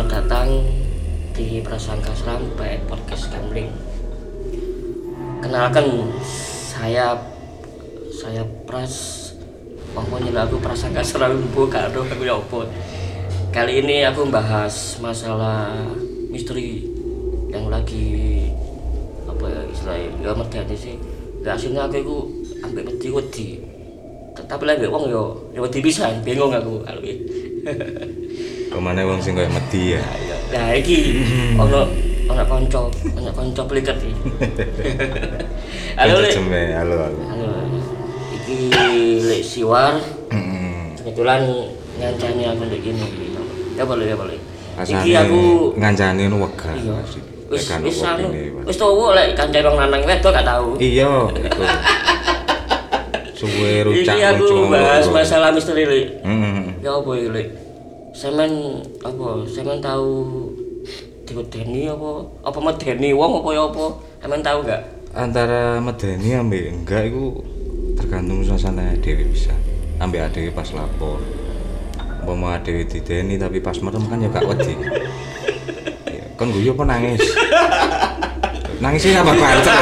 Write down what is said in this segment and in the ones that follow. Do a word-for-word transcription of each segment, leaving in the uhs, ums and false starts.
selamat datang di Prasangka Seram by Podcast Gambling. Kenalkan, saya saya Pras, pokoknya aku Prasangka Seram bukan aku ya opo. Kali ini aku membahas masalah misteri yang lagi apa ya istilahnya ya medeni sih. Gak aslinya aku itu ambek wedi-wedi. Tapi lagi wong yo yo wedi pisan, bingung aku kalau iki. Kemana wong sing koyo medhi ya? Nah iki ono ono kanca, ono kanca pliket iki. Halo, Lek. Halo, halo. Halo. Iki Lek Siwar. Kebetulan ngancani aku ndek kene iki. Ya boleh, ya boleh. Iki aku ngancani ngono wegah. Wis wis anu. Wis tuwa lek kancane wong lanang wedok gak tau. Iya, iku. Suwe rucak iki aku bahas ngono. masalah misteri Lek. Heeh. Ya apa iki Lek? Sampeyan apa? Sampeyan tahu diwedeni apa? Apa medeni wong apa ya apa? Sampeyan tahu enggak? Antara medeni ambek enggak iku tergantung suasana dhewe bisa. Ambek dhewe pas lapor. Umpama dhewe dideni tapi pas merem kan ya gak wedi. Ya, kon guyu apa nangis? Nangisnya apa banter?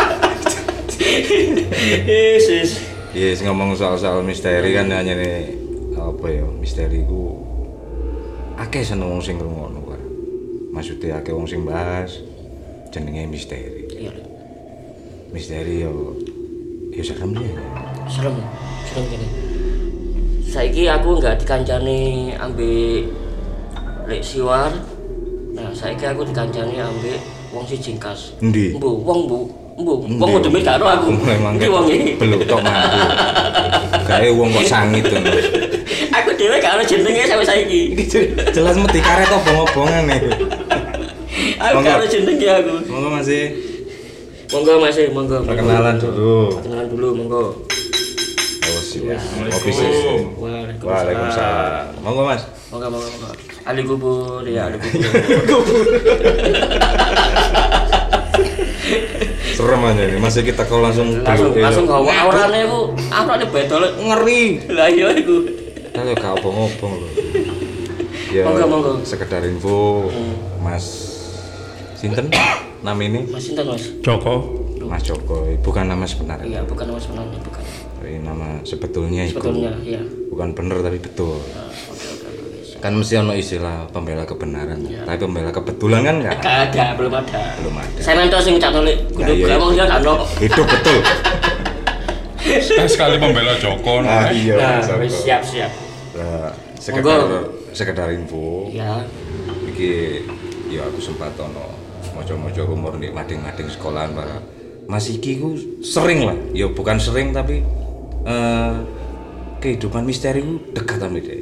Yesus. Yes, ngomong soal-soal misteri kan hanya nih apa ya misteri ku akeh seneng wong sing ngrungokno kan. Maksudnya akeh wong sing bahas jenenge misteri. Iya. Misteri yo yo serem ya. Serem, serem gini. Saiki aku enggak dikancani ambek Lek Siwar. Nah, saiki aku dikancani ambek wong si jingkas. Endi? Mbu, wong mbu. Mbu, wong kudu mik karo aku. Memang iki wong iki. Belum tok mati. Gawe wong kok sangit to. Aku dhewe gak ono jenenge sampe saiki. Jelas mesti karet obong-obongan iku. Aku gak ono jenenge aku. Monggo Mas. Monggo Mas, monggo. Perkenalan dulu. Perkenalan dulu, monggo. Oh siap. Kopi sih. Waalaikumsalam. Waalaikumsalam. Monggo Mas. Monggo, monggo, monggo. Ali kubur ya, ali kubur. Serem aja nih, masih kita kalau langsung langsung langsung gawa aurane ku, aurane bedol ngeri. Lah iya iku. Kalau gak obong-obong lho. Ya, monggo, monggo. Sekedar info, hmm. Mas sinten nama ini? Mas sinten Mas? Joko. Mas Joko, bukan nama sebenarnya. Iya, bukan nama sebenarnya, bukan. Ini nama sebetulnya itu. Sebetulnya, iya. Bukan bener tapi betul. Nah, oke, oke, oke. Kan mesti ono istilah pembela kebenaran, ya. Tapi pembela kebetulan kan enggak? Enggak ada, belum ada. Belum ada. Saya mentos sing cak nulik, kudu ngomong dia kan ono. Itu betul. Saya sekali pembela Joko. Ah, iya. Nah, siap, siap. Nah, sekedar sekedar info. Ya. Iki ya aku sempat ono moco-moco rumor nih mading-mading sekolahan para Mas iki ku sering lah. Ya bukan sering tapi eh, kehidupan misteri ku dekat sama dia.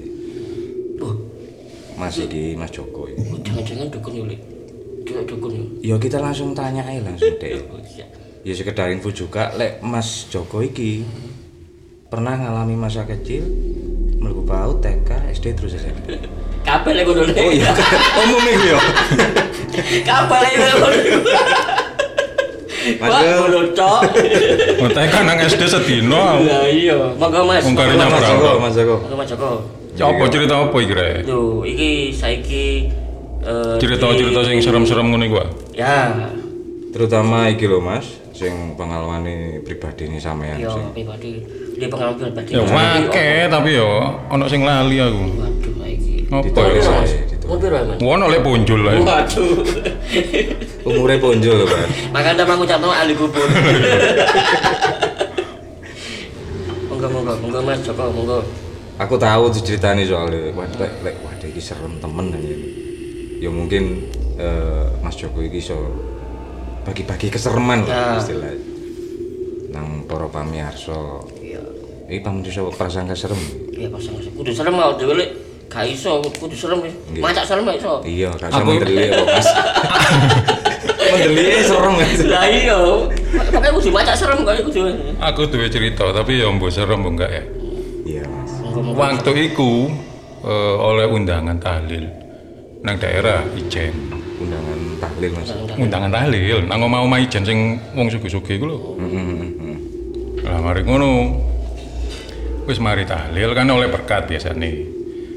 Mas iki Mas Joko ini. Oh, jangan-jangan dukun yulik. Juga dukun Ya yuk. kita langsung tanya aja langsung deh. Ya sekedar info juga, lek Mas Joko iki pernah ngalami masa kecil mlebu PAUD, T K, S D terus S M P. Kabeh lek ngono. Oh iya, umum iki yo. Kabeh lek ngono. Mas ngono cok. Ngotek kan nang S D sedino. Lah iya, monggo Mas. Wong karinya Mas berapa? Joko, Mas Joko. Monggo Mas Joko. Ya apa cerita apa iki rek? Lho, iki saiki eh Cerita-cerita sing serem-serem ngono iku. Ya. Terutama iki lho Mas, sing pengalaman pribadi ini sampean Yo, sing. pribadi. Dia pengalaman pribadi. Ya akeh tapi yo ono sing lali aku. Waduh, saiki. Apa? Ditulis Mas. ae, ditulis. Umur berapa, Mas? Ono lek punjul lah. Waduh. Umure ponjol lho, Mas. Makanya mau ngucapno ahli kubur. Monggo, monggo, monggo Mas Joko, monggo. Aku tahu diceritani soalnya, wah lek lek wah iki serem temen aja. Ya mungkin eh, Mas Joko iki iso bagi-bagi kesereman lah Ya. istilahnya. Nang para pamirsa. Iya. Iki pamirsa prasangka serem. Iya, pasang kudu serem mau dhewe lek gak iso kudu serem wis. Nggih. Macak serem gak iso. Iya, gak iso Aku- mendelik kok Mas. Mendelik serem Mas. Lah iya. Pakai kudu macak serem kok kudu. Aku duwe cerita tapi yo mbok serem mbok enggak ya. Iya Mas. Monggo, monggo. Waktu iku eh, oleh undangan tahlil nang daerah Ijen. Undangan tahlil Mas. Undangan tahlil nang omah-omah Ijen sing wong sugih-sugih iku lho. Heeh. Lah mari ngono. Wis mari tahlil kan oleh berkat biasane.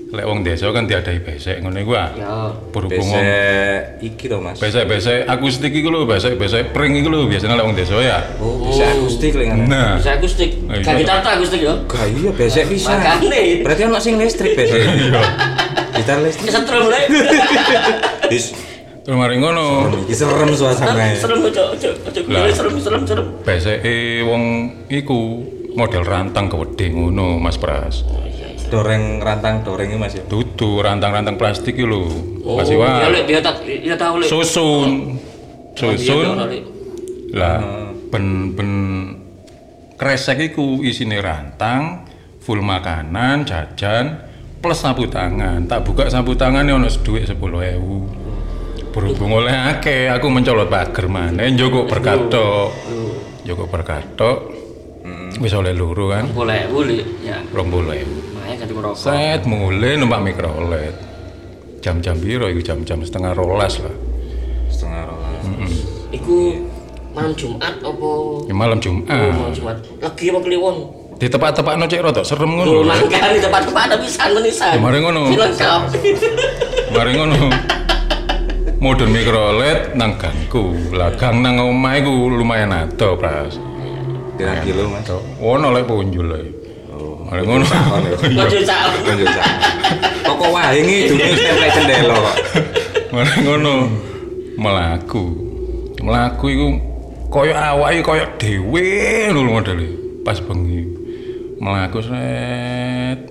Lek wong desa kan diadai besek ngono iku ah. Ya. Berhubung wong Besek iki to Mas. besek-besek akustik iku lho, besek-besek pring iku lho biasanya lek wong desa ya. Oh, besek akustik lek ngono. Nah, Bisa akustik. Oh, iya. Gak gitar tak akustik ya. Gak iya besek pisan. Makane. Berarti ono sing listrik besek. iya. Gitar listrik. Kesetrum lek. Wis Terus mari ngono, iki serem suasana. Serem ojo ojo ojo Lah. serem serem serem. beseke wong iku model rantang kewedhe ngono Mas Pras. Doreng rantang doreng iki Mas ya. Dudu rantang-rantang plastik iki lho. Masih Ya wae. lek dia tak dia tahu lek. Susun. Susun. Iya, Lek. Lah ben ben kresek iku isine rantang, full makanan, jajan, plus sapu tangan. Tak buka sapu tangane ono dhuwit sepuluh ribu. Berhubung oleh akeh, aku mencolot pager maneh njoko berkat tok. Njoko berkat tok. Wis oleh loro kan. Boleh boleh ya. dua puluh ribu. Makanya ganti rokok. Set mulai numpak mikrolet. Jam-jam piro iku jam-jam setengah rolas lah. Setengah rolas. Iku malam Jumat apa? Ya malam Oh, Jumat. malam Jumat. Lagi apa kliwon? Di tepak-tepakno cek rada serem Lho, ngono. mangkane di tempat-tempat ada pisan menisan. Ya, mari ngono. Lengkap. Mari ngono. Modern mikrolet nang gangku. Lah gang nang omah iku lumayan ado, Pras. Pirang kilo Mas? Ono lek punjul lek. Oh. Mari ngono. Sakon ya. Ojo sak. Lanjut sak. Toko wae ngidunge stempel cendela kok. Mari ngono. Melaku. Melaku iku koyo awake koyo dhewe lho modele. Pas bengi. Melaku set.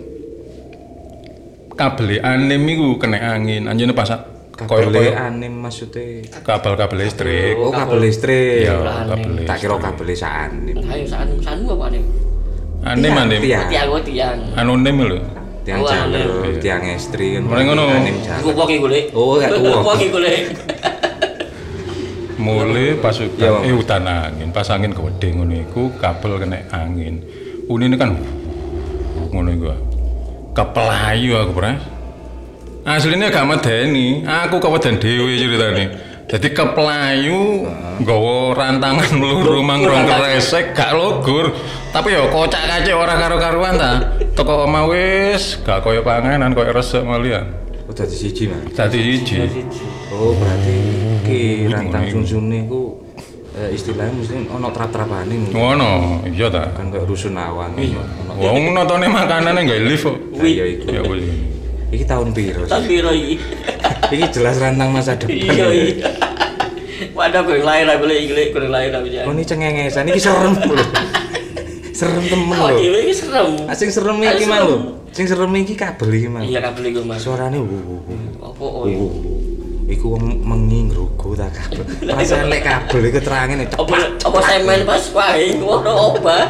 Kabel anim iku kena angin. Anjene pas koyo Kabel koyo anim maksudnya. kabel-kabel listrik. Oh, kabel listrik. Iya, kabel Tak kira listrik. kabel sanim. Ayo sak sak apa nih? Anim anim. Tiang. Tiang oh, tiang. Anonim lho. Tiang Oh, jalur, anim. tiang estri kan. Mari ngono. Anim Iku jalur. wong iki golek. Oh, gak tuwa. Wong iki golek. Mulai pas Iya, hutan, Bang. eh hutan angin, pas angin gede ngono iku kabel kena angin. Unine kan ngono iku. Kepelayu aku, Pras. Aslinya gak medeni, aku keweden dhewe ceritane. Jadi kepelayu nggawa rantangan mluru mangrong kresek gak logur. Tapi ya kocak kacik ora karo-karuan ta. Teko omah wis gak koyo panganan, koyo resik malian. Oh, dadi siji, Mas. Dadi siji. Oh, berarti iki rantang Ngono iku. sunsune iku eh, istilahnya mesti ono trap-trapane. Ngono, iya ta. Kan kayak rusun awan. Ono. Wong notone makanane gak lift kok. Iya iku. Ya wis. Iki tahun piro? Tak piro iki? Iki jelas rantang masa depan. Iya iya. Wadah gue lahir aku lek iki gue lahir aku ya. Oh, ini cengengesan iki serem lho. Serem temen Oh, lho. dhewe iki serem. Ah, sing serem iki Ah, mah serem. lho. Sing serem iki kabel iki mah. Iya kabel iku Mas. Suarane wuh wuh. wuh. Apa oh iya. Wuh. Iku wong mengi ngrugo ta kabel. Perasaan lek kabel iku terangin Apa apa semen pas wae ngono obah.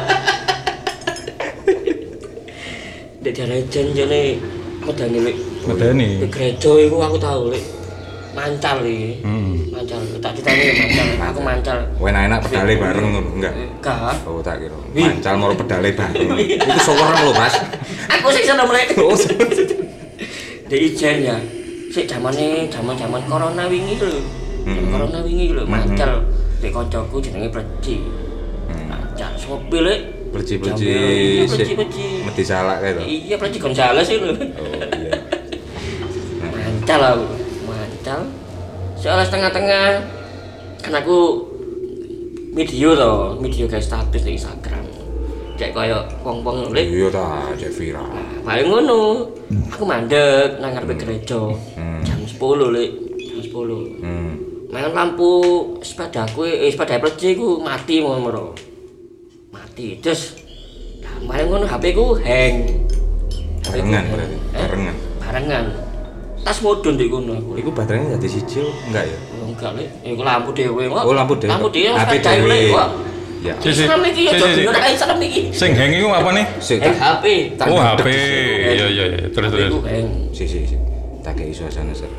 Dek jane jane medani lek. Medani. Di gereja iku aku tahu lek. Mancal iki. Hmm. Mancal. Tak ditanya mancal. Aku mancal. enak-enak pedale bareng ngono enggak? Enggak. Oh, tak kira. Mancal moro pedale bareng. Iku sowerem lho, Mas. Aku sih seneng lek. Oh, Dek ijen ya. Sik zamane zaman-zaman corona wingi lho. Hmm. Corona wingi lho mancal. Dek kancaku jenenge Preci. Mancal sopir lek. Perci-perci Jambe, sik perci-perci. meti salak kae to. Iya Preci Gonzales itu lho. Oh, iya. Mancal aku. Mancal. Soalnya setengah-tengah kan aku video to, video guys status di Instagram. Kayak koyo wong-wong lek Iya ta, cek viral. paling ngono. Aku mandek nang ngarepe gereja. Jam sepuluh lek, jam sepuluh. Hmm. Main lampu sepadaku, eh sepeda Preci ku mati ngono. Mati. Terus lah paling ngono H P ku hang. H P ku Barengan hang. berarti. Eh? Barengan. Barengan. Tas mudun di kono aku. Iku baterainya dadi siji enggak ya? Oh, enggak lek. Iku lampu dhewe kok. Oh, lampu dhewe. Lampu dhewe H P sepeda dhewe. lek kok. Ya. Si, si. Serem iki ya, Si, si, si. dadi ora kaya serem iki. Sing hang iku apa nih? Sik Eh, tak H P. tak Oh, H P. ndek. Iya iya iya. Terus terus. Iku hang. Si si si. Tak kei suasana ser.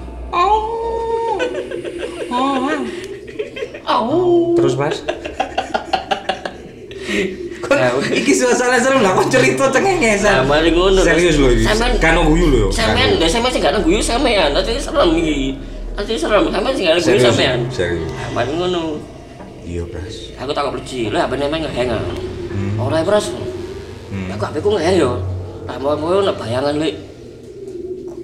Oh. Terus, Mas. Nah, Iki suasana serem lah kok cerita Nah, cengengesan. mari ngono. Serius lho iki. Sampean Kan guyu lho. sampean, lha sampean sing gak guyu sampean. Nanti serem iki. Nanti serem. Sampean sing gak guyu Serius, sampean. serius. Nah, mari ngono. Iya, Bras. Aku takut Preci. Lah H P nemeng ngehang. Hmm. Ora, Bros. Hmm. Aku H P ku ngehang yo. Lah mau-mau nek bayangan lek.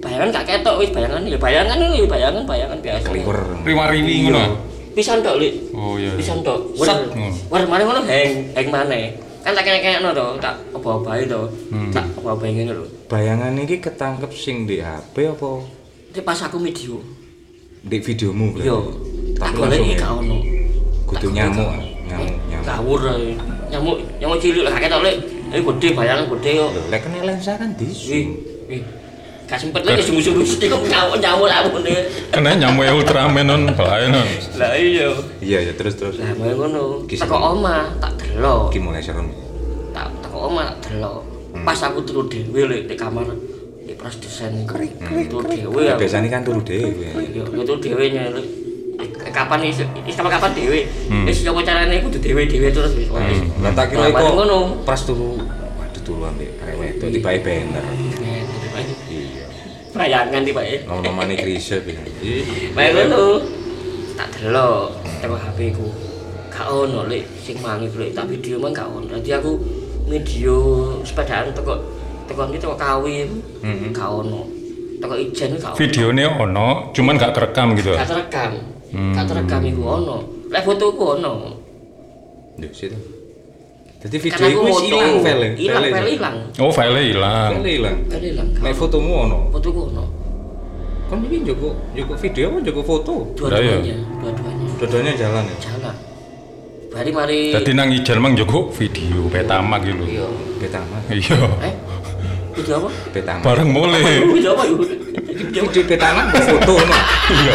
bayangan gak ketok wis bayangan ya bayangan ya bayangan bayangan biasa. Kliwer. Riwa-riwi ngono. Pisan tok, Lik. Oh iya. Pisan tok. Set. War mari ngono heng, heng maneh. Kan tak kene-kenekno to, tak oba-obahi to. Tak oba-obahi ngene lho. Bayangan iki ketangkep sing di H P apa Iki pas aku video. di videomu berarti? Yo. Tak goleki gak ono. Kudu nyamuk, nyamuk, nyamuk. Kawur ae. Nyamuk, nyamuk cilik lah ketok, Lik. Eh gede bayangan gede kok. Lho, lek kena lensa kan Wih, disu. wih. Gak sempet lagi sungguh-sungguh sih kok nyamuk-nyamuk lah ngene. Kena nyamuk Ultraman non, bahaya non. Lah iya. Iya ya terus terus. Lah mau ngono. Kisah. Teko omah tak delok. Iki mulai serem. Tak teko omah tak delok. Pas aku turu dhewe lek di kamar di pras desain krik krik turu dhewe Ya aku. biasanya kan turu dhewe. Yo yo turu dhewe nya lek kapan is is kapan kapan dhewe. Wis yo carane kudu dhewe-dhewe terus wis. Lah tak kira Lah, iku ngono. pas turu waduh turu ambek arek wedok tiba-tiba bener. Iya. Bayangan tiba e. Nom-nomane Krisye pisan. Bae ngono. Tak delok teko H P ku. Gak ono lek sing mangi lek tak video mah gak ono. Dadi aku video sepedaan teko teko iki teko kawin. Gak ono. Teko ijen gak ono. Videone ono, cuman gak kerekam gitu. Gak terekam. Gak terekam iku ono. Lek fotoku ono. Yo situ. Dadi video Karena iku aku wis foto. ilang file. Ilang file ilang. Oh, file hilang. File ilang. File ilang. Nek fotomu ono. Fotoku ono. Kon iki njogo njogo video apa njogo foto? Dua-duanya, dua-duanya. Dua-duanya jalan ya. Jalan. Bari mari. Dadi nang ijen mang njogo video Betamax gitu. Iya. Betamax. Iya. Eh? Video apa? Betamax. Bareng mulai. Video apa yuk? Video Video Betamax foto no. Iya.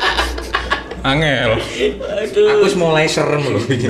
Angel. Aduh. Aku wis mulai serem lho iki.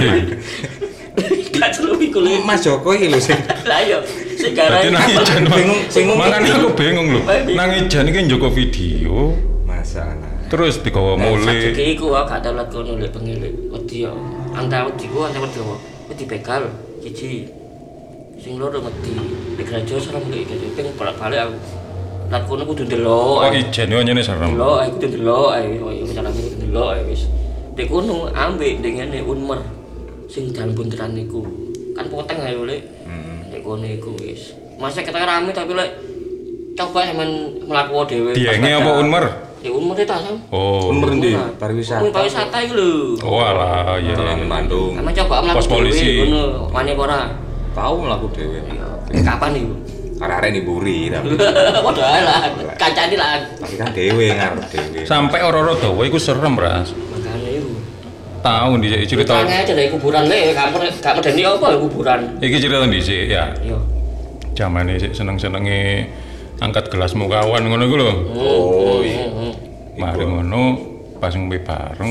Gak seru iku lho. Mas Joko iki lho sing Lah yo, sing Dadi nang garane ijen Bingung, bingung. Makane aku bingung lho. Nang ijen iki njogo video, masalah. terus digawa mulai. Saiki iku aku gak tau lek kono lek bengi lek wedi yo. Antara wedi ku antara wedi apa? Wedi begal siji. Sing loro wedi. Di gereja serem lek iki ping bolak-balik aku. Lek kono kudu ndelok. Oh ijen yo nyene serem. Delok ae kudu delok ae koyo misalnya kudu delok ae wis. Dek kono ambek dengene unmer sing dalem bunteran niku. Kan poteng ae lek. Heeh. Dek kono iku wis. Masa kita rame tapi lek coba sampean mlaku dhewe. Dienge apa unmer? Di unmer ta sam. Oh. Umur ndi? Pariwisata. Unmer pariwisata iku lho. Oh alah, iya iya. Di Bandung. Sama coba mlaku Pos polisi. dhewe ngono. Wani apa ora? Tahu mlaku dhewe. Kapan iku? Arek-arek niburi tapi Padha ae lah. Kancane lah. tapi kan dhewe ngarep dhewe. Sampai ora-ora dawa iku serem, Ras. Makane iku. Tahu dhisik cerita. Tange aja dari kuburan le, kamu gak medeni apa kuburan. Iki cerita dhisik ya. Iya. Jamane sik seneng-senenge angkat gelas mukawan ngono iku lho. Oh iya. Mari ngono pas ngombe bareng.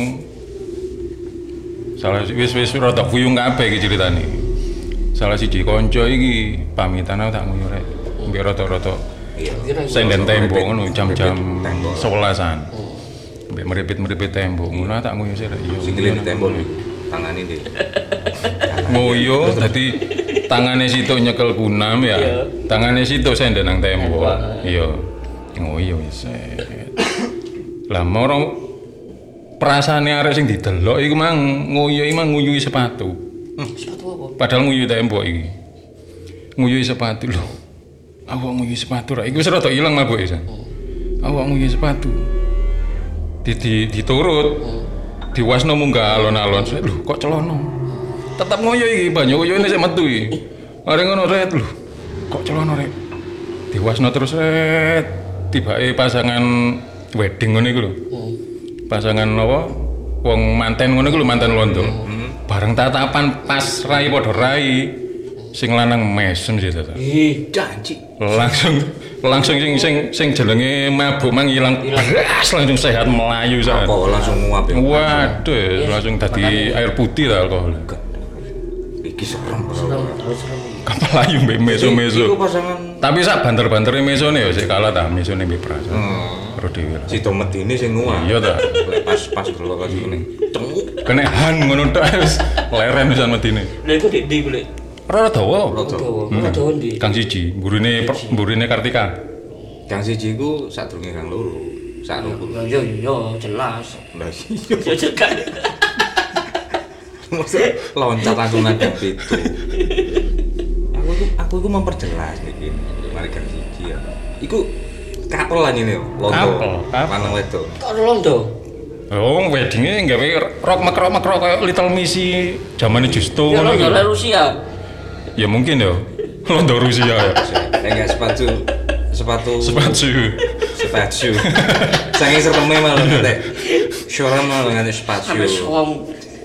Salah wis wis rada kuyung kabeh iki ceritane. Salah siji kanca iki pamitan aku tak nguyu rek. Mbek rada-rada Iya, kira iku. senden tembok ngono jam-jam Tembok. sebelasan. Mbek meripit-meripit tembok ngono tak nguyu sik rek. Iya. Sing ngene tembok tangane ndi. Ngoyo dadi tangane situ nyekel kunam ya. Iya. Tangane situ senden nang tembok. Iya. Ngoyo wis. Lah moro perasaane arek sing didelok iku mang ngoyo iki mang nguyuhi sepatu. Sepatu apa? Padahal nguyuhi tembok iki. Nguyuhi sepatu lho. Awak nguyuhi sepatu ra. Iki wis rada ilang mabuke san. Awak nguyuhi sepatu. Di, di diturut. Diwasno munggah alon-alon. Lho kok celono. Tetep ngoyo iki banyu ngoyone sik metu iki. Are ngono ret lho. Kok celono rek. Diwasno terus ret. Tibake pasangan wedding ngono iku lho. Pasangan apa? Wong manten ngono iku lho manten londo. Bareng tatapan pas rai padha rai. Sing lanang mesem sih tata. Ih, Janji. Langsung langsung sing sing sing jenenge mabuk mang ilang. Blas langsung sehat melayu sak. Apa langsung nguap ya? Waduh, langsung dadi air putih ta alkohol. Iki serem. serem, terus serem. Kapal ayu mbek meso-meso. Iku pasangan Tapi sak banter-bantere mesone ya sik kalah ta mesone mbek Pras. Hmm. Karo dhewe. si Tometine sing nguap. Iya ta. Lek pas pas delok lagi ngene. Cenguk. Kene han ngono tok wis leren pisan medine. Lha iku di ndi kuwi? Ora dawa. Dawa. Ora dawa ndi? Kang siji, mburine mburine Kartika. Kang siji iku sadurunge kang loro. Sak loro. Ya yo yo jelas. Lah iya. Ya cekan. Maksud loncat langsung ngadep itu. Aku iku aku iku memperjelas niki. Mari kang siji ya. Iku Kapel lah ini londo. Kapel, kapel. Lanang wedok. Kok londo? Oh, weddingnya gawe rock makrok makrok kayak Little Missy zamane Justo Ya ngono londo iki. lah Rusia. Ya mungkin ya. Londo Rusia ya. Enggak sepatu sepatu Sepatu. sepatu. Sange sereme malah nek. Shoran malah ngene sepatu. Sampai suam.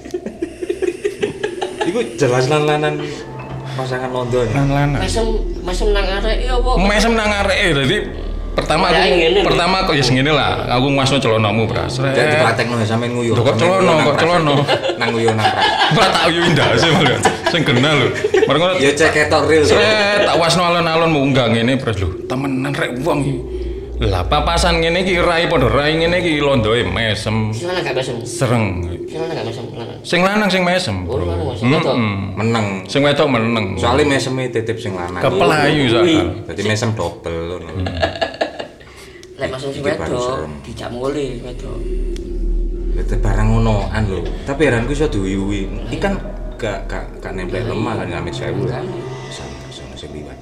Iku jelas lan-lanan pasangan London. Lan-lanan. Mesem mesem nang arek ya apa? Mesem nang areke dadi pertama Ya, aku ngene, pertama kok ya ngene lah. Aku ngasuh celanamu, Pras. Jadi dipraktekno sampean nguyu. Lho, kok celana, kok celana? Nang nguyu nang pras. Ora tak uyu indah sih malah. Sing kenal lho. Bareng ngono. Ya cek ketok real. Sret tak wasno alon-alon munggah ngene Pras lho. Temenan rek wong iki. Lah papasan ngene iki rai padha rai ngene iki londoe mesem. Sing lanang gak mesem. Sereng. Sing lanang gak mesem. Lanang. Sing lanang sing mesem. Oh, Bro. lanang mesem. Wedok. Mm-mm. Meneng. Sing wedok meneng. Soale meseme titip sing lanang. Kepelayu soal. Dadi mesem double ngono. Lek mesem sing Iki baru wedok serem. dijak mulih wedok. Itu barang ngonoan lho. Tapi heranku iso diuyui. Iki kan gak gak gak nempel lemah kan amit sewu. Sama sama sing liwat.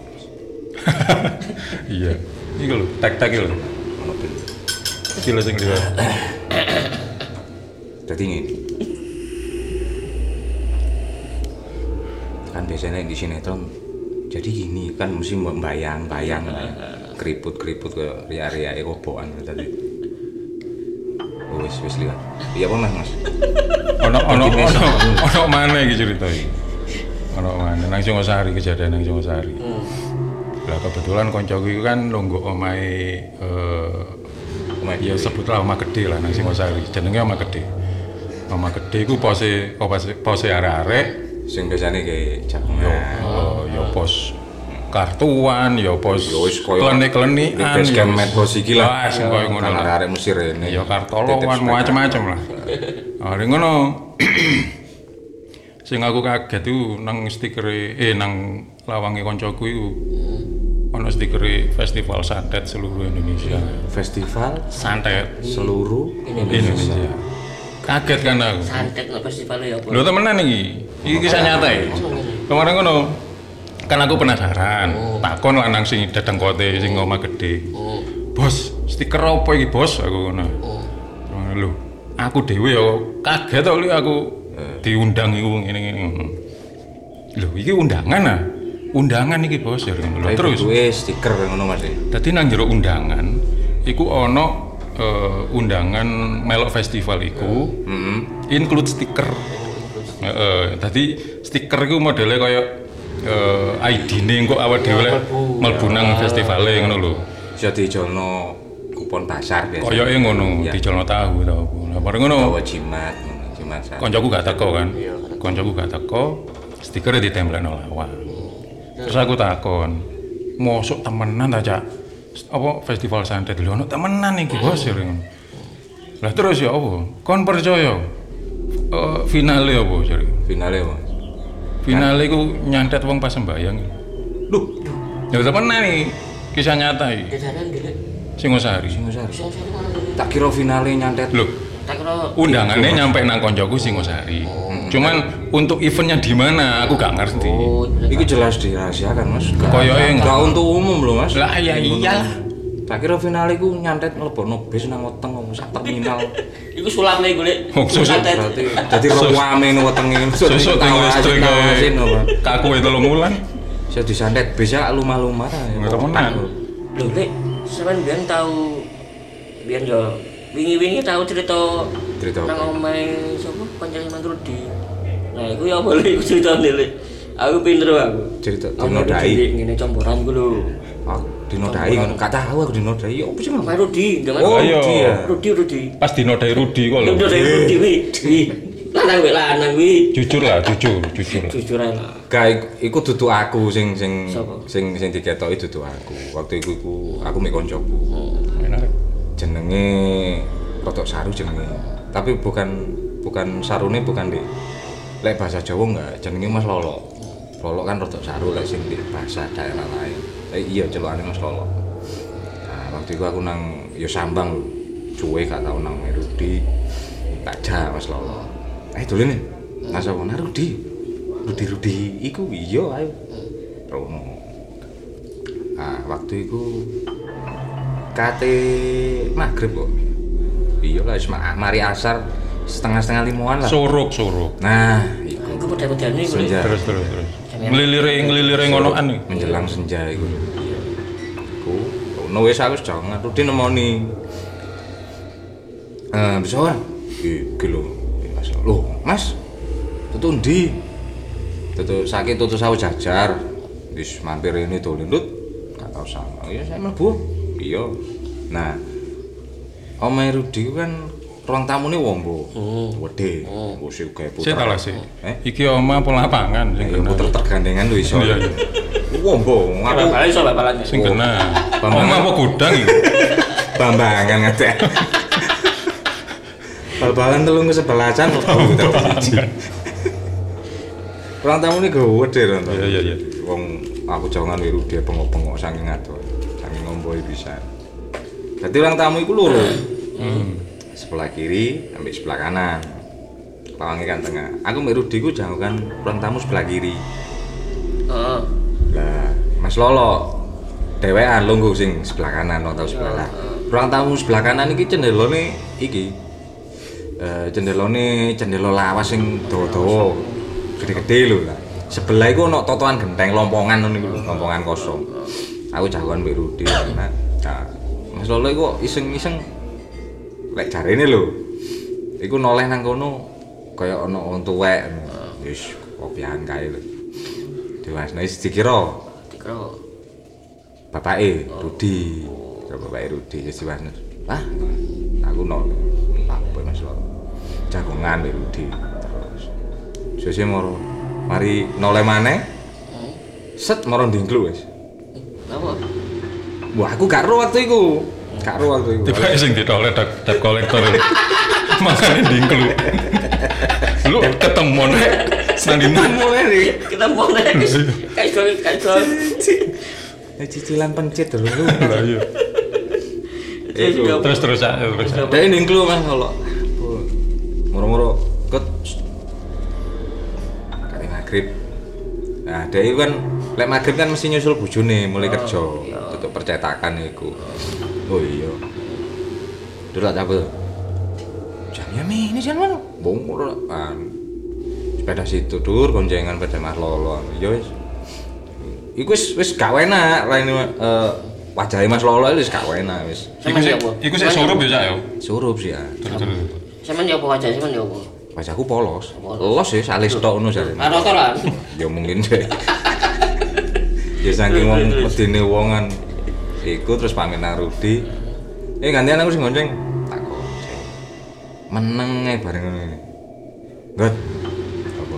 Iya. Iku lho, tek-tek lho. Ono ben. Iki lho sing liwat. Dadi ngene. Kan biasanya di sinetron jadi gini kan mesti bayang-bayang keriput-keriput ke ria-ria kobokan tadi. Oh, wis wis liwat. Iya apa Mas? Ono ono Dadi mesem. ono ono maneh iki cerita iki. Ono maneh nang Singosari kejadian nang Singosari. Lah kebetulan koncoku iku kan lungguh omahe eh ya sebutlah omah gede lah nang Singosari. Jenenge omah gede. Omah gede iku pose pose pose arek-arek Sing biasane kayak yo jagongan. oh, yo pos kartuan, yo pos Yo wis koyo klenik-klenikan, base camp medsos iki lah. Wah, sing koyo ngono lah. Arek mesti rene. Ya kartolowan macam-macam lah. Hari ngono. Sing aku kaget itu nang stikere eh nang lawange koncoku iku. Ono stikere Festival Santet seluruh Indonesia. Festival Santet seluruh Indonesia. Kaget kan aku. Santet no festival ya apa? Lho temenan iki. Iki kisah nyata ya. Kemarin ngono. Kan aku penasaran. Takon lah nang sing dedengkote sing omah gede. Bos, stiker apa iki, Bos? Aku ngono. Lho, aku dhewe ya kaget kok li aku diundang iku ngene-ngene. Lho, iki undangan ah. Undangan iki, Bos. Ya ngono. Terus bentuke stiker ngono Mas. dadi nang jero undangan iku ana uh, undangan melok festival iku Heeh. include stiker. Heeh, dadi stiker iku modele kaya uh, I D-ne engko awake dhewe lek mlebu nang festivale ngono lho. Iso dijolno kupon pasar biasa. Koyoke ngono, Ya. dicolno tahu ta apa. Lah bareng ngono, Bawa jimat, ngono, jimat sak. koncoku gak teko kan. Koncoku gak teko, stikernya ditempelno lawang. Terus aku takon, mosok temenan ta, Cak? Apa festival santet lho ono temenan iki, Bos ya ngono. Lah terus ya apa? Kon percaya? Eh finale apa jare? Finale, Mas. Finale iku nyantet wong pas sembayang. Duh, Ya temenan iki, kisah nyata iki. Kejaran dhewe. Singosari. Singosari. Sing sing mana dhewe? Tak kira finale nyantet. Lho, Tak kira undangannya nyampe nang koncoku Singosari. Cuman untuk eventnya di mana aku gak ngerti. oh, Iku jelas dirahasiakan, Mas. Gak- Koyoke gak untuk umum lho, Mas. Lah ya iyalah. Tak kira finale iku nyantet mlebono bis nang weteng kok sak terminal. iku sulame golek. Oh, susu. Santet. Berarti dadi rame ning wetenge. Sesuk teng listrik Tawasin, kae. Pak. Kaku itu telung wulan. Bisa disantet bisa lumah-lumah ta. Nggak temenan. Lho, Lek, sampean biyen tau biyen yo wingi-wingi tau cerita Cerita apa? nang omahe sapa kancane Mang Rudi. Nah, iku ya boleh iku ceritane, Lek. Aku pinter aku. Cerita Omahe dinodai. Rudi ngene comboran ku lho. Aku dinodai ngono. Gak tahu aku dinodai. Ya apa sih, Mas? Mang Rudi, jangan Oh, Ayo. dia. Rudi Rudi. Pas dinodai Rudi kok lho. Lho dari Rudi wi. Wi. Lanang wi lanang wi. Jujur lah, jujur, jujur. Jujur ae lah. Gak, iku- iku dudu aku sing sing Sapa? sing sing diketoki dudu aku. Waktu iku iku aku mek koncoku. Enak. Jenenge Rotok Saru jenenge. Tapi bukan bukan sarune bukan di lek bahasa Jawa enggak, jenenge Mas Lolo. Lolo kan Rotok Saru lek sing di bahasa daerah lain. Eh iya celokane Mas Lolo. Nah, waktu itu aku nang yo sambang lho. Cuwe gak tau nang Rudi. Tak ja Mas Lolo. Eh dolen nih. Mas apa nang Rudi? Rudi Rudi iku iya ayo. Rono. Ah, waktu itu dekate maghrib kok. Iya lah, wis mari asar setengah-setengah limuan lah. Suruk, suruk. Nah, iku. Iku model-model niku. Senja. Terus terus terus. Nglilire nglilire ngonoan iki. Menjelang senja iku. Iku, ono wis aku jangan rutin nemoni. Eh, bisa kan? Iki lho. Mas, lho, Mas. Tutu ndi? Tutu sakit tutu sawu jajar. Wis mampir ini to lindut. Gak tau sama. Ya saya mlebu. Iya. Nah, Omae Rudi ku kan ruang tamune wombo. Wedhe. Wis gawe puter. Sik ta lah sik. Eh? Iki oma apa lapangan sing Ya kena. puter tergandengan lho iso. Iya, iya. Wombo, aku Bal-balan iso bal-balan. Sing kena. Bambang. Oma apa gudang iki? bambangan ngate. Bal-balan telung kesebelasan kok puter siji. Ruang tamune gede lho to. Iya iya iya. Wong aku jangan wiru dia pengok-pengok saking ado. Saking ngomboi pisan. Dadi ruang tamu iku loro. Hmm. Sebelah kiri sampai sebelah kanan. Lawange kan tengah. Aku mbek Rudi ku jangan ruang tamu sebelah kiri. Heeh. Lah, Mas Lolo dhewean lungguh sing sebelah kanan atau sebelah lah. Ruang tamu sebelah kanan iki cendelone iki. Eh cendelone cendela lawas sing dawa-dawa. Gede-gede lho lah. Sebelah iku ono totoan genteng lompongan ngono iku lho, lompongan kosong. Aku jagoan mbek Rudi. Nah, Mas Lolo iku iseng-iseng lek jarene lho. Iku noleh nang kono kaya ana wong tuwek. Wis kopian kae lho. Dewasane wis dikira Dikira bapake Rudi. Karo bapake Rudi wis diwasne. Ah, aku nol. Apa Mas Lolo? Jagongan mbek Rudi. Terus sesuk moro mari noleh maneh. Set moro ndingklu wis. apa? Wah, aku gak ro waktu iku. Gak ro waktu iku. Tiba sing ditoleh debt debt collector. Makane dingklu. Lu ketemu nek sandina mulai nih. Kita boleh. Kayak soal kayak soal. Cicilan pencet dulu. Lah iya. Iku. Terus terus aja terus. aja. Dari ndingklu Mas kalau moro-moro ket kali maghrib. Nah, dari kan lek maghrib kan mesti nyusul bojone mulai kerja. Tutup percetakan iku. Oh iya. Dulu tak apa? Jamnya mi ini jangan mana? Bong kan. Sepeda situ dur goncengan pada Mas Lolo. Ya wis. Iku wis wis gak enak lain eh wajahe Mas Lolo wis gak enak wis. Iku sik iku sik surup ya Cak ya. Surup sih ya. Terus terus. Sampeyan ya apa wajah sampeyan ya apa? Wajahku polos. Los sih salis tok ngono jare. Rata lah. Ya mungkin deh. Ya saking wong medine wongan iku terus pamit nang Rudi. Eh gantian aku sing gonceng. Tak gonceng. Meneng ae bareng ngono iki. Ngot. Apa?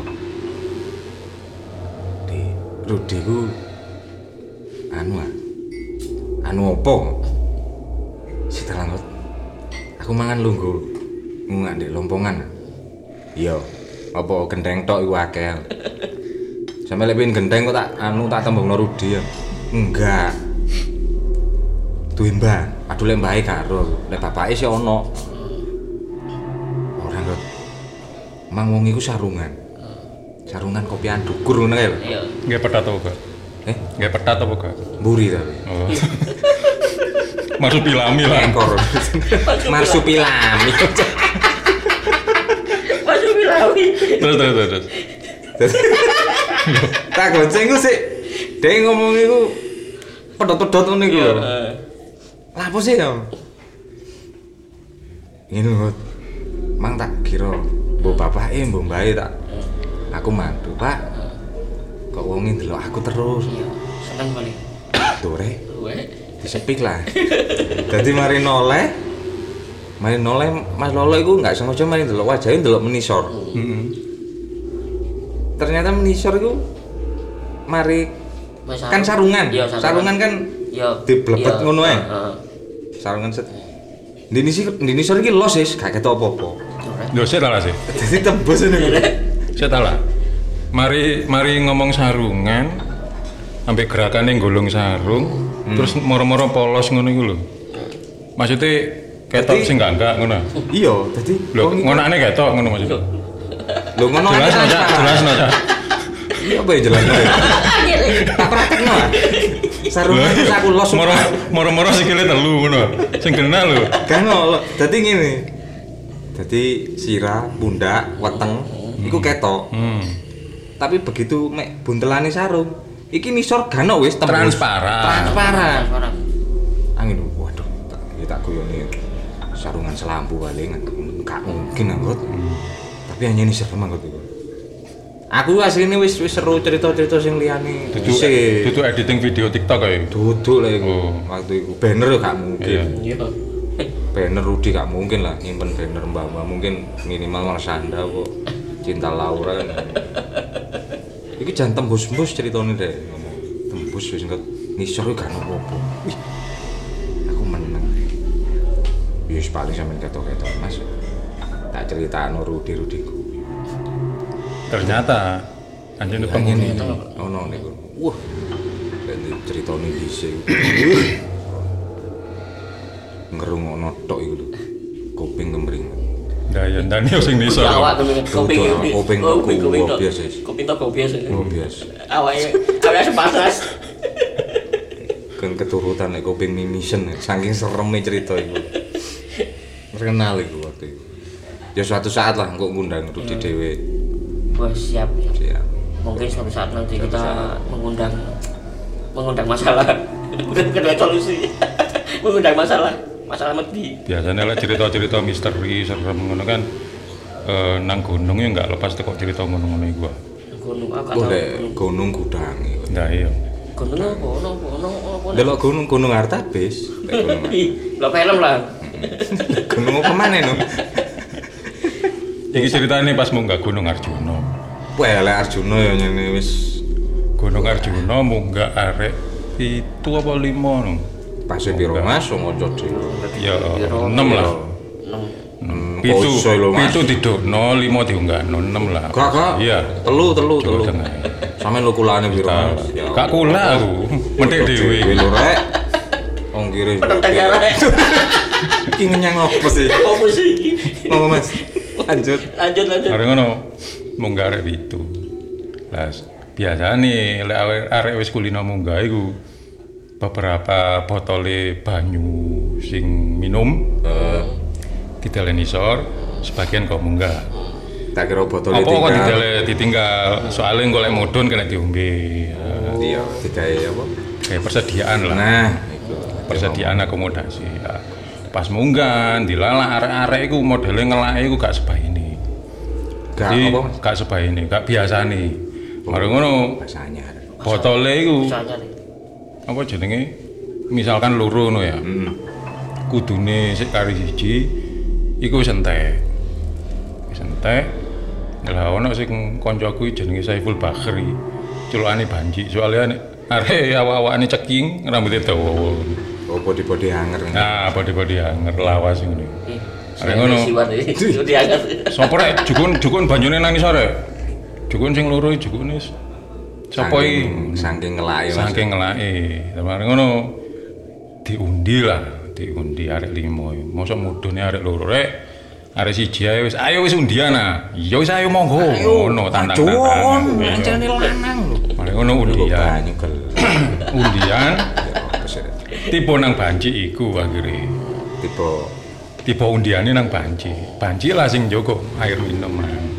Di Rudi ku anu ah. Anu opo? Setelah ngot. Aku mangan lungguh. Ngak ndek lompongan. Iya. Apa gendeng tok iku akeh. Sampe lek pengin gendeng kok tak anu tak tembungno Rudi ya. Enggak. Duwe mbah, aduh lek mbahe karo, lek bapake sih ono. Ora kok. Mang wong iku sarungan. Sarungan kopian dukur ngono kae lho. Iya. Nggih petat apa gak? Eh, Nggih petat apa gak? mburi tapi. Oh. Marsupilami lah. Ekor. Marsupilami. Masuk bilawi. Terus terus terus. Tak gonceng ku sik. Dek ngomong iku pedot-pedot ngono iku lho. Lah apa sih ya? Ngene kok. Mang tak kira mbok bapake mbok mbahe tak. Aku mantu, Pak. Kok wonge ndelok aku terus. Iya. Seneng kali. Dore Weh. disepik lah. Dadi mari noleh. Mari noleh Mas Lolo iku enggak sengaja mari ndelok wajahe ndelok menisor. Heeh. Ternyata menisor iku mari kan sarungan. Iya, sarungan kan iya diblebet iya. ngono ae. Heeh. Sarungan set. Dini sih dini sore iki los wis gak ketok apa-apa. Yo sik ta lah sih. Dadi tembus ngene. Sik ta lah. Mari mari ngomong sarungan sampai gerakannya golong sarung hmm. terus moro-moro polos ngono iku lho. Maksudnya ketok Dadi- sing enggak enggak ngono. Iya, dadi Lho, ngonane ketok ngono maksudnya. lho ngono ae Jelas no, Cak. Jelas no, Cak. Iya apa ya jelas. Tak praktekno. ah. Sarungan terus aku los. Moro moro-moro sikile telu ngono. Sing kena lho. Kan ngono. Dadi ngene. Dadi sirah, pundak, weteng iku ketok. Hmm. Tapi begitu mek buntelane sarung, iki nisor gano wis tembus. Transparan. Transparan. Transparan. Angin waduh, tak iki tak guyoni sarungan selampu paling enggak mungkin anggot. Hmm. Tapi hanya ini serem anggot iku. Aku asline wis wis seru cerita-cerita sing liyane. Dudu dudu editing video TikTok kae. Duduk lah iku. Oh. Waktu iku banner gak mungkin. Iya. Banner Rudi gak mungkin lah nyimpen banner mbak-mbak mungkin minimal Marsanda kok Cinta Laura kan. Iki jan tembus-tembus ceritane deh. Tembus wis engko nisor gak ono-opo. Wih. Aku meneng. Wis paling sampean ketok-ketok Mas. Tak critakno Rudi-Rudiku. Ternyata anjene penghuni ono niku. Wah. Ganti ceritane dhisik. Ngerungokno tok iku lho. Kuping kemring. Lah ya ndane sing nisor. Awak kuping kuping kuping biasa. Kuping tok biasa. Oh biasa. Awake awake sepatas. Kan keturutan nek kuping mimisen saking sereme cerita iku. Terkenal iku waktu itu. Ya suatu saat lah engko ngundang Rudi dhewe. Wah, siap. Siap. Mungkin suatu saat nanti kita mengundang mengundang masalah. Bukan bukan solusi. Mengundang masalah. Masalah mati. Biasanya lah cerita-cerita misteri serem ngono kan eh, nang gunung ya enggak lepas teko cerita ngono-ngono iku. Gunung apa Boleh gunung gudangi. Nah iya. Gunung apa? Ono ono apa? Delok gunung gunung Artabis. Lo film lah. Gunung apa maneh no? Iki ceritane pas munggah Gunung Arjuna. Wah, lek Arjuna ya nyene wis Gunung Arjuna munggah arek pitu apa lima no. pas piro Mas ngoco dhewe. Ya enam lah. enam. Pitu Poso lho, Mas. pitu didokno, lima diunggahno, enam lah. Gak gak. Iya. Telu telu telu. Tengah. Sampeyan lho kulane piro Mas? Ya. Gak kula aku, mentik dhewe. Lho rek. Wong kiri. Penenteng arek. Iki ngenyang opo sih? Apa sih? Mau Mas. Lanjut. Lanjut lanjut. Arek ngono munggah arek pitu. Lah biasane lek arek arek wis kulino munggah iku beberapa botole banyu sing minum uh, dideleni isor, sebagian kok munggah. Tak kira botol Apa kok didele ditinggal soalnya golek mudhun kena diombe. Oh, iya, digawe apa? Kayak persediaan lah. Nah, iku. Persediaan akomodasi. Nah, pas munggah dilalah arek-arek iku modele ngelake iku gak sebaine. Gak Jadi, apa Mas? gak sebaine, gak biasane. Mari ngono Bahasanya. botole iku Misalnya nih. apa jenenge? Misalkan loro ngono ya. Hmm. Kudune sik kari siji iku wis entek. Wis entek. Lah ono sing kancaku jenenge Saiful Bakhri. Culukane Banji. Soale arek awak-awakane ceking, rambutnya dawa. Oh, body-body hanger. Nah, body-body hanger lawas ngono. Arek Ngono. ngono. Itu diangkat. Sopo rek jukun jukun banyune nang isor rek. Jukun sing loro jukune sapa iki? Saking ngelake Mas. Saking ngelake. Mari ngono diundi lah, diundi arek lima. Mosok mudune arek loro rek. Arek siji ae wis ayo wis undian ah. Ya wis ayo monggo. Ngono tantang-tantangan. Ancane lanang lho. Mari ngono undian. Banyu gel. Undian tiba nang banci iku akhire. Tipe Tiba undiane nang banci. Banci lah sing njogo air minum.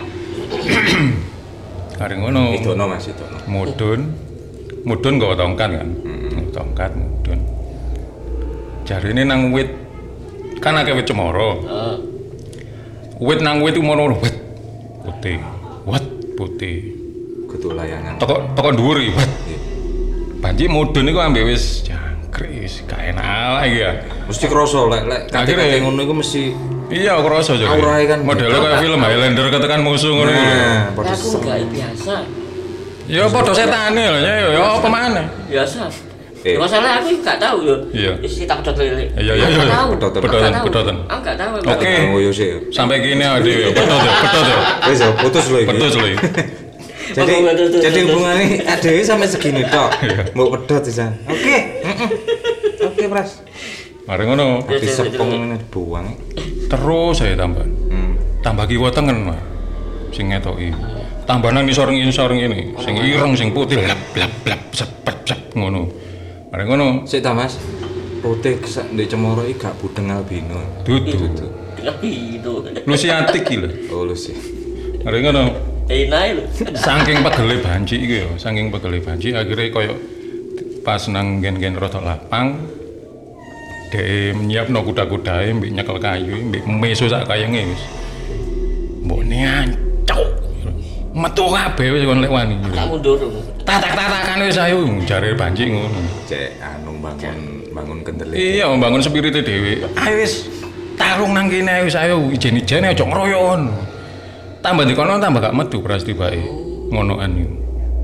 Arek ngono. idono Mas idono. Mudun. Mudun nggawa tongkat kan. Hmm. Tongkat mudun. Jarine nang wit kan akeh wit cemara. Heeh. Wit nang wit ngono wit putih. Wat putih. Kudu layangan. Toko toko dhuwur iki. Wat. Banci mudun iku ambek wis jangkrik, gak enak iki ya. Mesti kroso lek lek kate ngono iku mesti Iya, kerasa jadi. Aurae kan Modelnya beda. kayak film Highlander ketekan musuh ngono iku lho. Nah, padha Aku enggak biasa. Ya padha setane lho, ya ya apa maneh. Biasa. Eh. Masalah aku enggak tahu yo. Iya. Isi tak pedot lele. Iya iya iya. Enggak tahu. Pedotan. Pedotan, Enggak tahu. pedotan. Aku enggak tahu. Oke. ngoyo sih. Sampai gini ade ya, pedot ya, pedot ya. Wis ya putus lho iki. Pedot lho. Jadi Ngomong pedot, jadi pedot. hubungannya adewe sampai segini tok. Mbok pedot pisan. Oke. heeh. Oke, Pras. Mari ngono. Di sepung ngene dibuang. Terus saya tambah. Hmm. Tambah kiwa tengen, Mas. Sing ngetoki. Tambah nang ngisor-ngisor ngene, sing ireng sing putih blap blap blap sepet sep ngono. Bareng ngono. Sik ta Mas. Putih ndek Cemoro iki gak budeng albino. Dudu. Lebih itu. Lusiatik iki lho. Oh lu sih. Bareng ngono. Enak lho. Saking pegele banci iki ya, saking pegele banci akhirnya koyo pas nang gen-gen rada lapang dhek nyiapno kuda-kudae mbek nyekel kayu mbek meso sak kayenge wis. Mbokne ancuk. Metu kabeh wis kon lek wani. Tak mundur. Tatak-tatakan wis ayo jare banci ngono. Cek anu bangun bangun kendele. Iya, membangun spirite dhewe. Ayo wis tarung nang kene wis ayo ijen-ijene aja ngroyon. Tambah dikono tambah gak metu pras tibake. Ngonoan iki.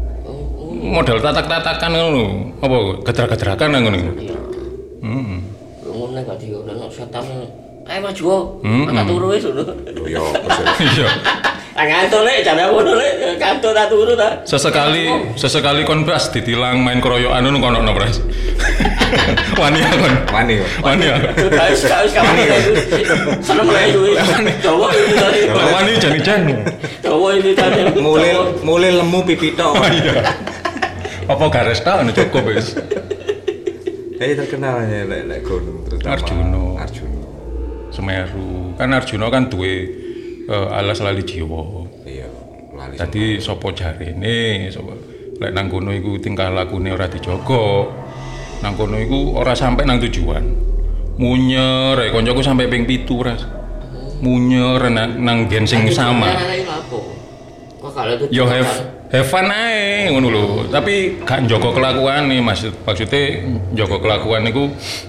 Modal tatak-tatakan ngono. Apa gedrak-gedrakan nang ngono. Heeh. Ngono gak diono setan. Ayo maju. Tak turu wis ngono. Yo, iya. Tangan to lek jane ngono lek kantor tak turu ta. Sesekali sesekali kon Pras ditilang main keroyokan ngono kono no Pras. Wani kon. Wani. Wani. Guys, guys kamu seneng lek duwe. Coba ini tadi. Wani jan-jan. Coba ini tadi. Mulai mulai lemu pipi tok. Iya. Apa garis tok anu cukup wis. Eh terkenal ya lek lek gunung terutama Arjuna. Arjuna. Semeru. Kan Arjuna kan duwe uh, alas lali jiwa. Iya, lali. Dadi sapa jarene sapa lek nang kono iku tingkah lakune ora dijaga. Nang kono iku ora sampai nang tujuan. Munyer, eh koncoku sampai ping pitu Ras. Munyer nang, nang gen sing sama. Kok kalau itu Yo have have fun ae ngono lho. Tapi gak njaga kelakuane maksud maksudnya njaga kelakuan niku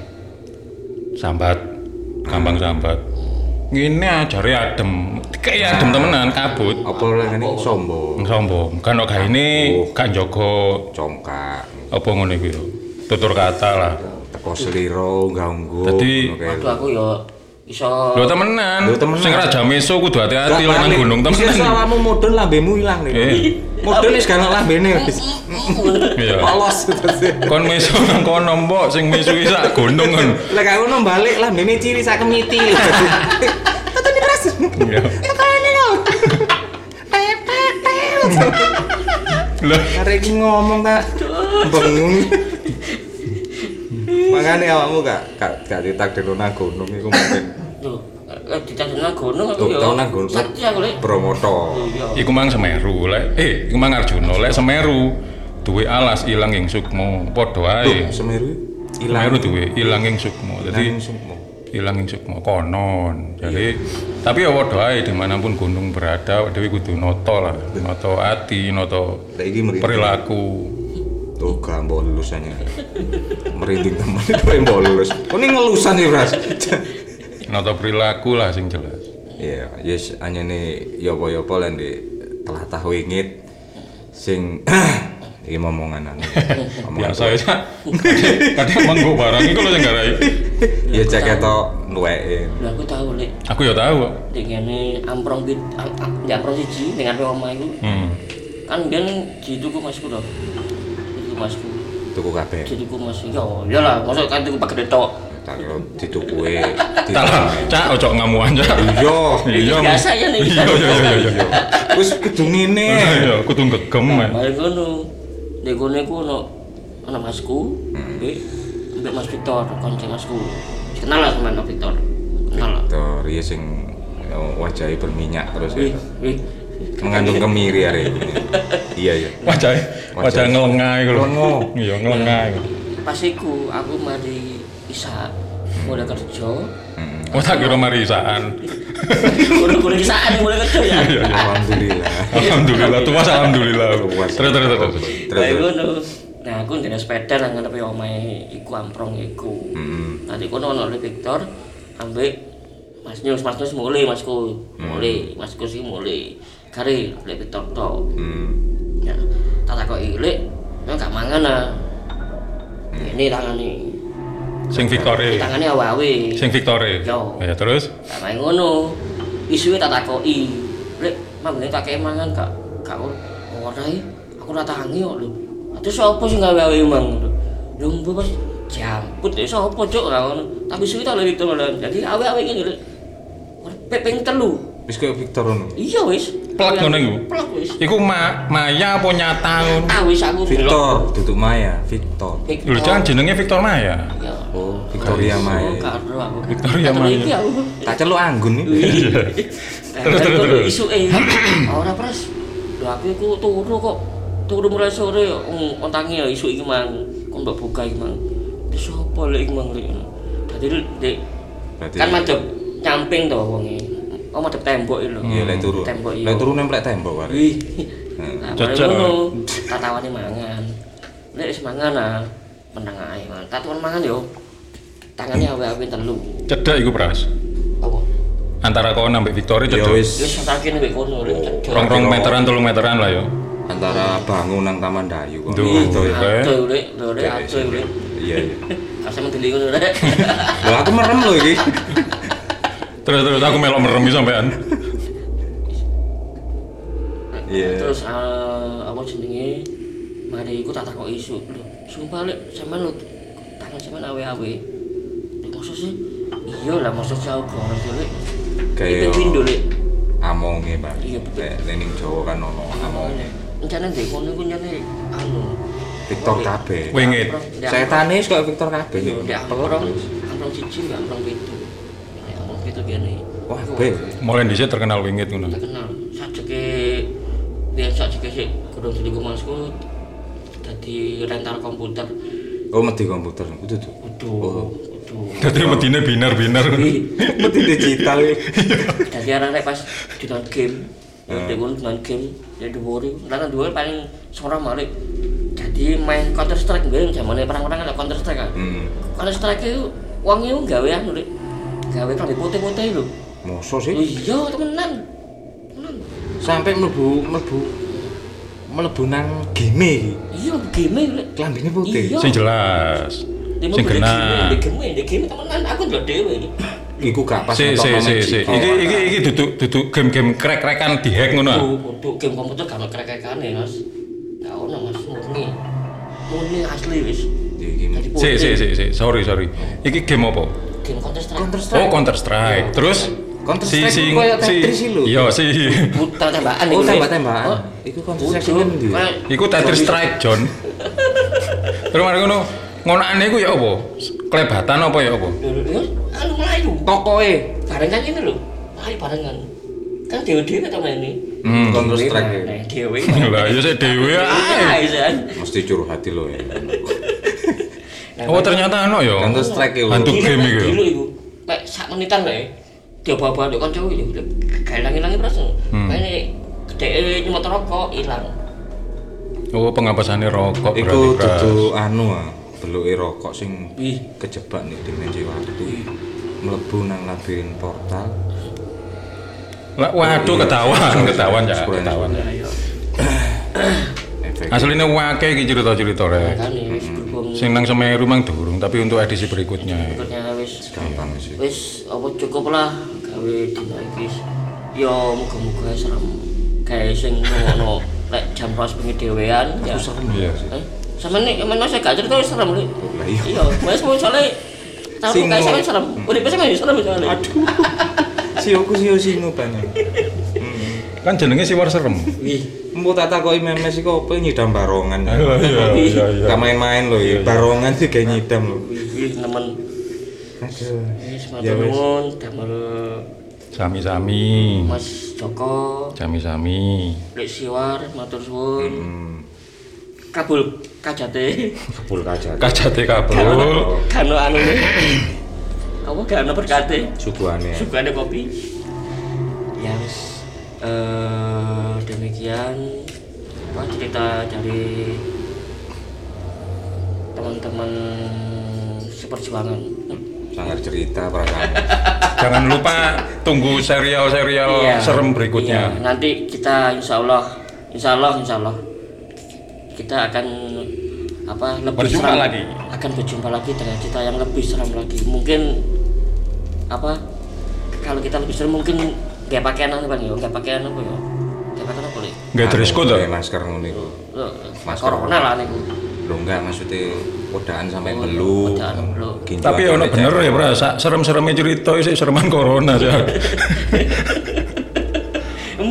sambat, gampang sambat. Ngene ajare adem. Kayak adem temenan kabut. Apa lene sombong. Sombong. Kan kok gaene gak njaga Congkak. apa ngono iku yo. Tutur kata lah. Teko sliro ganggu. Dadi Waduh aku yo iso lho temenan. Lho, temenan. Sing raja meso kudu hati-hati lek nang gunung Bisa temenan. salamu mudun lambemu ilang nih. Eh. Mudun wis gak lambene wis. Iya. Polos terus. Kon meso nang kono mbok sing mesu iki sak gunung kan. Lek aku ngono balik lambene ciri sak kemiti. Tetep keras. Iya. Lah Arek iki ngomong tak bengung. Makane awakmu gak gak gak ditakdirno nang gunung iku mungkin. tuh lek ditandana gunung aku Tuh, yo tau nang gunung. sakti aku lek Bromoto. iya iku mang Semeru lek eh iku mang Arjuna lek Semeru duwe alas ilang ing sukma padha Tuh, ae. Semeru ilang. Semeru duwe ilang ing sukma. Dadi Ilang sukma. ilang ing sukma konon. Jadi tapi ya padha ae dimanapun gunung berada dhewe kudu nata lah, nata ati, nata Lek iki merinding. perilaku. Tuh gak mbok lulusane. Merinding temen itu mbok lulus. Kok ini ngelusan iki, Bras? Nata perilaku lah sing jelas. Iya, yes anyane ya apa-apa lan di telatah wingit sing iki momongan anu. Biasa ya. Kadang manggo barang iku lho sing garai. Ya cek ketok nuweke. lha aku tahu lek Aku ya tahu kok. ning ngene amprong bit di amprong siji ning ngarepe omah iku Hmm. kan biyen dituku masku lho dituku masku Tuku kabeh. dituku mas yo ya lah mosok kan tuku pakai tok Tak kira ditukuke. Salah, Cak ojo ngamuan Cak. Iya. Iya. biasa ya nih Iya iya iya iya. Wis kudu ngene. Iya, kudu gegem. ya. mari ngono nek kono iku ono ana masku mbek mbek Mas Victor konco masku kenal lah sama Mas Victor kenal lah Tuh, iya sing wajahnya berminyak terus wih ya. wih Mengandung kemiri hari ini. Iya iya. Wajah wajah ngelengah iku lho. Lengo. Iya, ngelengah iku. pas iku aku mari isa mulai kerja Hmm. Oh tak kira marisaan. udah-udah isaan mulai kerja ya Iya iya. Alhamdulillah. Alhamdulillah, tuas alhamdulillah. Tuas. Terus terus terus. Terus. Kayak ngono. Nah, aku ndene sepeda nang ngarepe omahe iku amprong iku. Heeh. Nanti kono ono Le Victor ambek Mas Nyus, Mas Nyus mulai Masku. Mulai, Masku sih mulai. Kare Le Victor tok. Hmm. Ya, tak takoki Lek, "Nek gak mangan ah." Ini tangane. Sing Victore. Tangane awe-awe. Sing Victore. Yo. Ya terus Tak main ngono. Isuke tak takoki. Lek, mangane tak kei mangan gak gak ora e. Aku ora tangi kok lho. Terus sapa sing gawe-gawe mang? Lho mbok pas jamput ya sapa cuk ora ngono. Tapi suwi tak lek itu lho. Jadi awe-awe ngene lho. Pepeng telu. Wis koyo Victor ngono. Iya wis. Plek ngono iku. Plek wis. Iku ma Maya apa nyata ngono? Ah wis aku Victor, duduk Maya, Victor. Lho jangan jenenge Victor Maya. Ya. Oh, Victoria Maya. Karo aku. Victoria Karo Maya. iki aku. Tak celuk anggun iki. Terus, terus, terus. Isu eh. Ora pres. Lho aku iku turu kok. Turu mulai sore ontangi ya isu iki mang. Kok mbok buka iki mang. Terus opo lek iki mang lek. Dadi Dek kan madhep nyamping to wonge. Oh madhep tembok iki lho. Iya, lek turu. Tembok iya. Lek turu nemplek tembok wae. Wih. Nah, Cocok. ngono. Tatawane mangan. Lek wis mangan ah, meneng ae man. Tatuan mangan yo. Tangane awe-awe telu. Cedek iku Pras. Apa? Antara kau nambah Victoria Ya cedek. wis Wis sakene mek kono lek cedek. Rong-rong meteran, tolong meteran lah yo. antara bangun nang Taman Dayu kok. Duh. Gitu ya. Oke. Aduh lek, lho lek Ya, aduh lek. Iya, iya. Kasih menteli ngono lek. Lho aku merem lho iki. Terus terus aku melok merem iki sampean. Iya. Terus eh, apa jenenge? Mari iku tak takoki isu. Lho, sumpah lek sampean lho tangan sampean awe-awe. Lek maksud sih? Iya lah maksud jauh goreng lek. Kayak Itu pindo lek. amonge, Pak. Iya, betul. Lek ning Jawa kan ono amonge. Rencana ndek kono iku nyane anu Victor kabeh. Wingit. Setane wis kok Victor kabeh. Ndek amprong, amprong siji mbak amprong pitu. Nek amprong pitu kene. Wah, be. Mulai dhisik terkenal wingit ngono. Tak kenal. Sajeke biyen sajeke sik kurang jadi masku dadi rental komputer. Oh, mesti komputer. Kudu tuh. Kudu, kudu. Dadi medine binar-binar. Mesti digital iki. Dadi arek pas dinon game. Ya dhewe dinon game, ya dhuwure. Lan dhuwure paling sora malik. Jadi main Counter Strike biyen zamane perang-perang ada Counter Strike kan. Hmm. Counter Strike itu wong iku gawe anu Dik. Gawe klambi putih-putih lho. Mosok sih? Iya, temenan. Temenan. Sampai mlebu mlebu mlebu nang game iki. Iya, game lho. Klambine putih. Iya. Sing jelas. Sing genah. Di game, di game temenan aku ndelok dhewe iki. Iku gak pas Si si si si. Iki iki iki duduk duduk game-game krek-krekan dihack ngono. ah. Untuk game komputer gak ono krek-krekane, Mas. Gak ono, Mas, murni. Murni asli wis. Iki Dadi Si si putih. si si. Sorry sorry. Iki game apa? Game Counter Strike. Counter Oh Strike. Counter Strike. Terus Counter si Strike si ku koyo si. Tetris sih lho. Iya si. Putar tembakan Oh, iku, Dik. tembak-tembakan. Oh, Iku Counter Strike kudu. sing ndi? Kayak- Iku Tetris Strike John. Terus mari ngono. Ngonane iku ya apa? Klebatan apa ya apa? Lho, lho, anu melayu. Tokoe Barengan ini lho. Melayu barengan. Kan dewe-dewe ta main ini. Hmm. Counter Strike. Nah, dewe. Lah ya sik dhewe ae. Aisan. Mesti curhat lho ya. Oh ternyata ono ya. Counter Strike lho. Hantu game iku. Dulu iku. Mek sak menitan lho. Dia bawa-bawa ndek kanca iki. Gawe ilang-ilangi pras. Hmm. Maine gedhe nyemot rokok ilang. Oh pengapasane rokok Iku berarti Pras. dudu anu ah, beluke rokok sing Wih. kejebak nih dimensi waktu. Mlebu nang labirin portal. Lah waduh ketahuan, ketahuan ya, ketahuan. Ya ya. Efek. Aslinya wake iki cerita-cerita rek. Makane wis berhubung Sing nang Semeru mang durung, tapi untuk edisi berikutnya. berikutnya wis Gampang sih. wis apa cukup lah gawe dina iki. Yo muga-muga serem. Kayak sing ngono lek jam pas bengi dhewean ya. Aku serem Iya. ya sih. Eh, sama nih, emang saya gak cerita wis serem lho. Lah iya. Iya, mas mau soalnya tahu Singo. kayak sampe serem. Udah bisa main serem soalnya. Aduh. Sioku sio singo banget. Kan jenenge Siwar Serem. Wih, Mbok tak takoki memes iku opo nyidam barongan. Iya iya iya. Gak main-main lho ya. Barongan sih kayak nyidam lho. wih, wih, nemen. Aduh. Wis Ya matur wis. nuwun damel Sami-sami. Mas Joko, Sami-sami. Lek Siwar matur suwun. Hmm. Kabul kajate. Kebul kaca. Kajate kabul. Kano anu. Apa kano berkate? Suguhane. Sugane kopi. Ya wis. Eh demikian apa cerita dari teman-teman seperjuangan. Sangat cerita perasaan. Jangan lupa tunggu serial-serial Iya, serem berikutnya. iya. Nanti kita insya Allah, insya Allah, insya Allah kita akan apa lebih Berjumpa seram lagi. akan berjumpa lagi dengan cerita yang lebih seram lagi. Mungkin apa kalau kita lebih seram mungkin nggak pakaian apa nih? Nggak pakaian apa ya? Nggak pakaian apa nih? Enggak dress code Pakai toh? masker ngono iku. Loh, Masker. corona lah nih. Lho enggak maksudnya podaan sampai Oh, belu. podaan belu. Ginjal Tapi ono sampai bener jatuh. ya, Bro. Sak serem-sereme cerita isih sereman corona ya.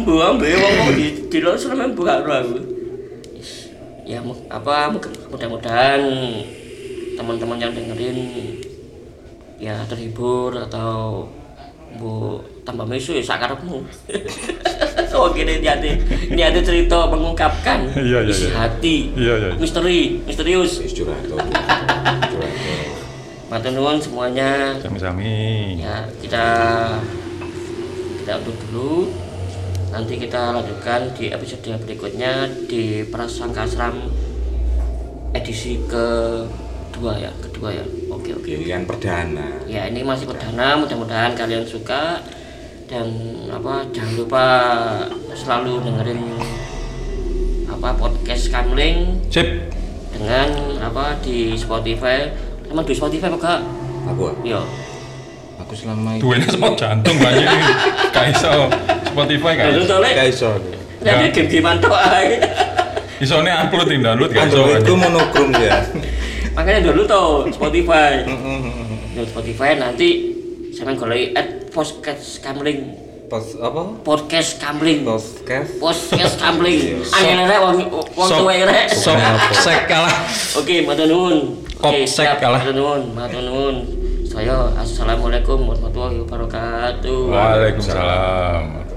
ambu ambu wong kok di di luar sana ambu karo aku. Ya apa mudah-mudahan teman-teman yang dengerin ya terhibur atau bu tambah mesu ya sakarepmu. Oh gini niatnya niatnya cerita mengungkapkan Iya, iya, isi iya. hati Iya, iya. misteri misterius. Wis curhat to. Curhat to. Matur nuwun semuanya. Sami-sami. Ya kita kita untuk dulu. Nanti kita lanjutkan di episode berikutnya di Prasangka Asram edisi kedua ya kedua ya. Oke oke. Pilihan perdana. Ya ini masih perdana, mudah-mudahan kalian suka dan apa jangan lupa selalu dengerin apa podcast Kamling Sip. dengan apa di Spotify. Emang di Spotify apa gak? Aku. Yo. Aku selama ini Duwene semot jantung banyak iki. Kaiso Spotify kan. Lalu tole. gak iso. Jadi game-game mantok ae. Isone upload ing download kan iso. Android itu monokrom ya. Makanya dulu tuh Spotify. Di Spotify nanti saya golek add podcast Kamling. Pas apa? Podcast Kamling. Podcast. Podcast Kamling. Angel rek wong wong tuwa rek. Sok sek kalah. Oke, matur nuwun. Oke, Kopsek siap. kalah. Matur nuwun, matur nuwun. Saya assalamualaikum warahmatullahi wabarakatuh. Waalaikumsalam.